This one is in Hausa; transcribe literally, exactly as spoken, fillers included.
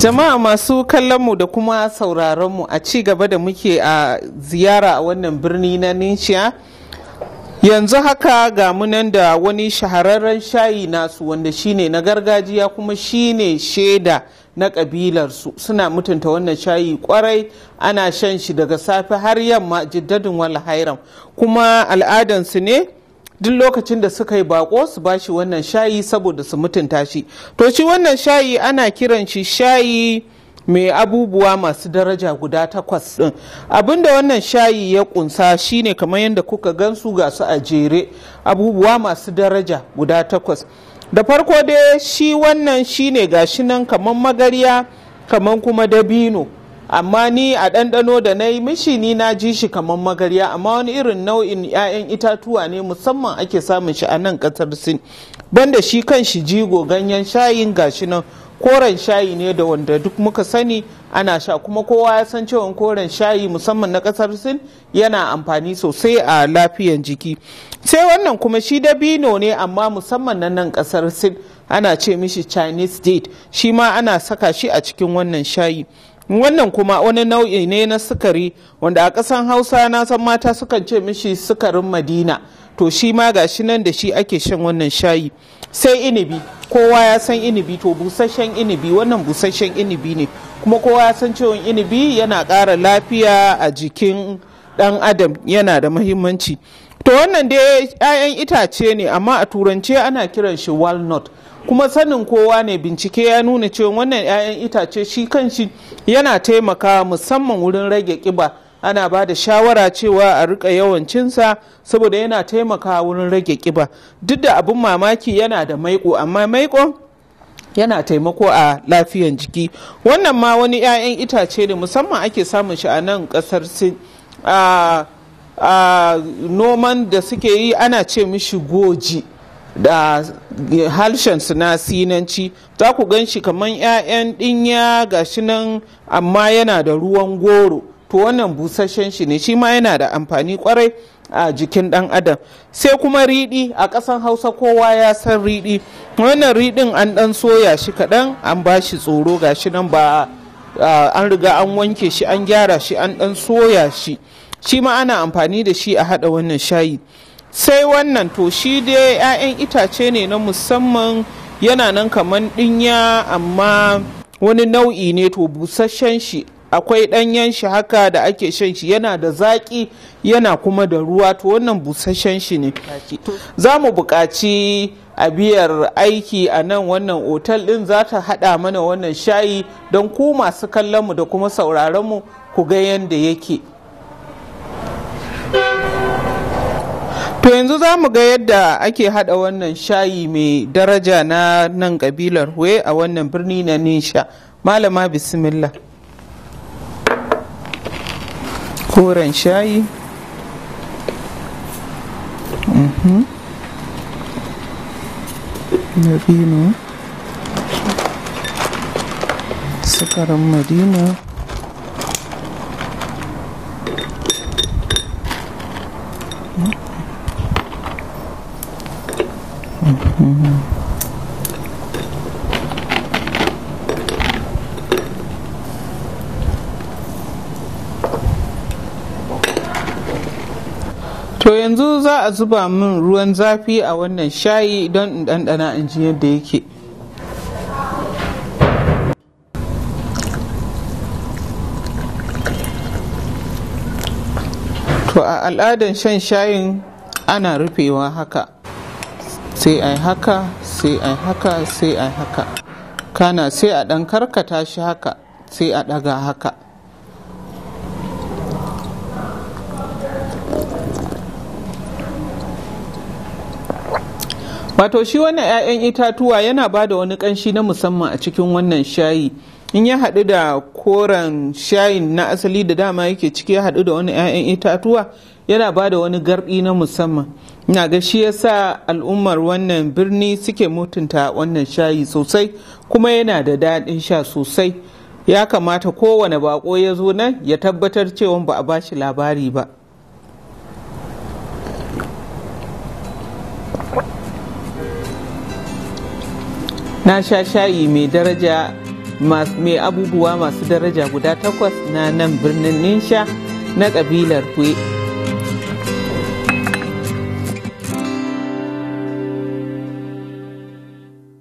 Jama'a masu kallonmu da kuma sauraronmu a ci gaba da muke a ziyara a wannan birni na Ninsha. Yanzu haka ga munan da wani shahararren shayi nasu wanda shine na gargajiya kuma shine shaida na kabilarsu. Suna mutunta wannan shayi kwarai, ana shan shi daga safe har yamma jiddadin wal hairam, kuma al'adansu ne duk lokacin da suka yi bako su bashi wannan shayi saboda su mutunta shi. To shi wannan shayi ana kiran shi shayi mai abubuwa masu daraja guda takwas din. Abinda wannan shayi ya kunsa shine kamar yadda kuka gansu ga su a jere, abubuwa masu daraja guda takwas. Da farko dai shi wannan shine gashi nan kamar magarya kamar kuma dabino, amma ni a ɗanɗano da na yi mishi ni na ji shi kamar magarya, amma wani irin nau'in 'ya'yan itatuwa ne musamman ake samun shi a nan ƙasar Sin. Banda shi kan shi jigo ganyen shayin gashi nan koren shayi ne da wanda duk muka sani ana sha, kuma kowa ya san cewa koren shayi musamman na ƙasar Sin yana amfani sosai a lafiyan jiki. Sai wannan kuma shi dabino ne amma musamman na nan ƙasar Sin ana ce mishi Chinese date, shi ma ana saka shi a cikin wannan shayi. Wannan kuma wani nau'i ne na sukari wanda a ƙasan Hausa na san mata sukan ce mishi sukarin Madina, to shi ma gashi nan da shi ake shan wannan shayi. Sai inibi, kowa ya san inibi, to busasshen inibi, wannan busasshen inibi ne, kuma kowa ya san cewa inibi yana ƙara lafiya a jikin ɗan adam, yana da muhimmanci. To wannan dai 'ya'yan itace ne amma a turance ana kiran shi walnut, kuma sanin kowa ne bincike ya nuna cewa wannan 'ya'yan itace shi kanshi yana taimakawa musamman wurin rage kiba. Ana ba da shawara cewa a rika yawan cinsa saboda yana taimakawa wurin rage kiba. Duk da abin mamaki yana da maiko, amma maiko yana taimako a lafiyan jiki. Wannan ma wani 'ya'yan itace ne musamman ake samun shi a nan kasar Sin. a noman da suke yi ana ce mishi goji da harshen su na Sinanci. Za ku gan shi kamar 'ya'yan ɗinya gashi nan amma yana da ruwan goro, to wannan busasshen shi ne, shi ma yana da amfani kwarai a jikin ɗan adam. Sai kuma riɗi, a ƙasan Hausa kowa ya san riɗi. Wannan riɗin an ɗan soya shi kaɗan an ba shi tsoro gashi nan, ba an riga an wanke shi an gyara shi an ɗan soya shi, shi ma ana amfani da shi a haɗa wannan shayi. Sai wannan to shi dai 'ya'yan itace ne na musamman, yana nan kamar ɗinya amma wani nau'i ne, to busasshen shi akwai ɗanyen shi haka da ake shan shi, yana da zaƙi yana kuma da ruwa, to wannan busasshen shi ne. Za mu buƙaci a biyar aiki a nan wannan otal ɗin za ta haɗa mana wannan shayi don ku masu kallonmu da kuma sauraronmu ku ga yadda yake. To yanzu za mu ga yadda ake hada wannan shayi mai daraja na nan kabilar Hue a wannan birni na Ninsha. Malama bismillah. Koren shayi. Mhm. Dabino. Sukarin Madina. To yanzu za a zuba min ruwan zafi a wannan shayi don in ɗanɗana in ji yadda yake. To a al'adan shan shayin ana rufewa haka, sai ai haka sai ai haka sai ai haka, kana sai a ɗan karkata shi haka sai a ɗaga haka. Wato shi wannan 'ya'yan itatuwa yana ba da wani ƙanshi na musamman a cikin wannan shayi. In ya haɗu da koren shayin na asali da dama yake ciki ya haɗu da wani 'ya'yan itatuwa, yana ba da wani garɗi na musamman. Ina ga shi yasa al'ummar wannan birni suke mutunta wannan shayi sosai, kuma yana da daɗin sha sosai. Ya kamata kowane bako ya zo nan ya tabbatar cewa ba a bashi labari ba. Na sha shayi mai daraja mai abubuwa masu daraja guda takwas na nan birnin Ninsha na kabilar Hue.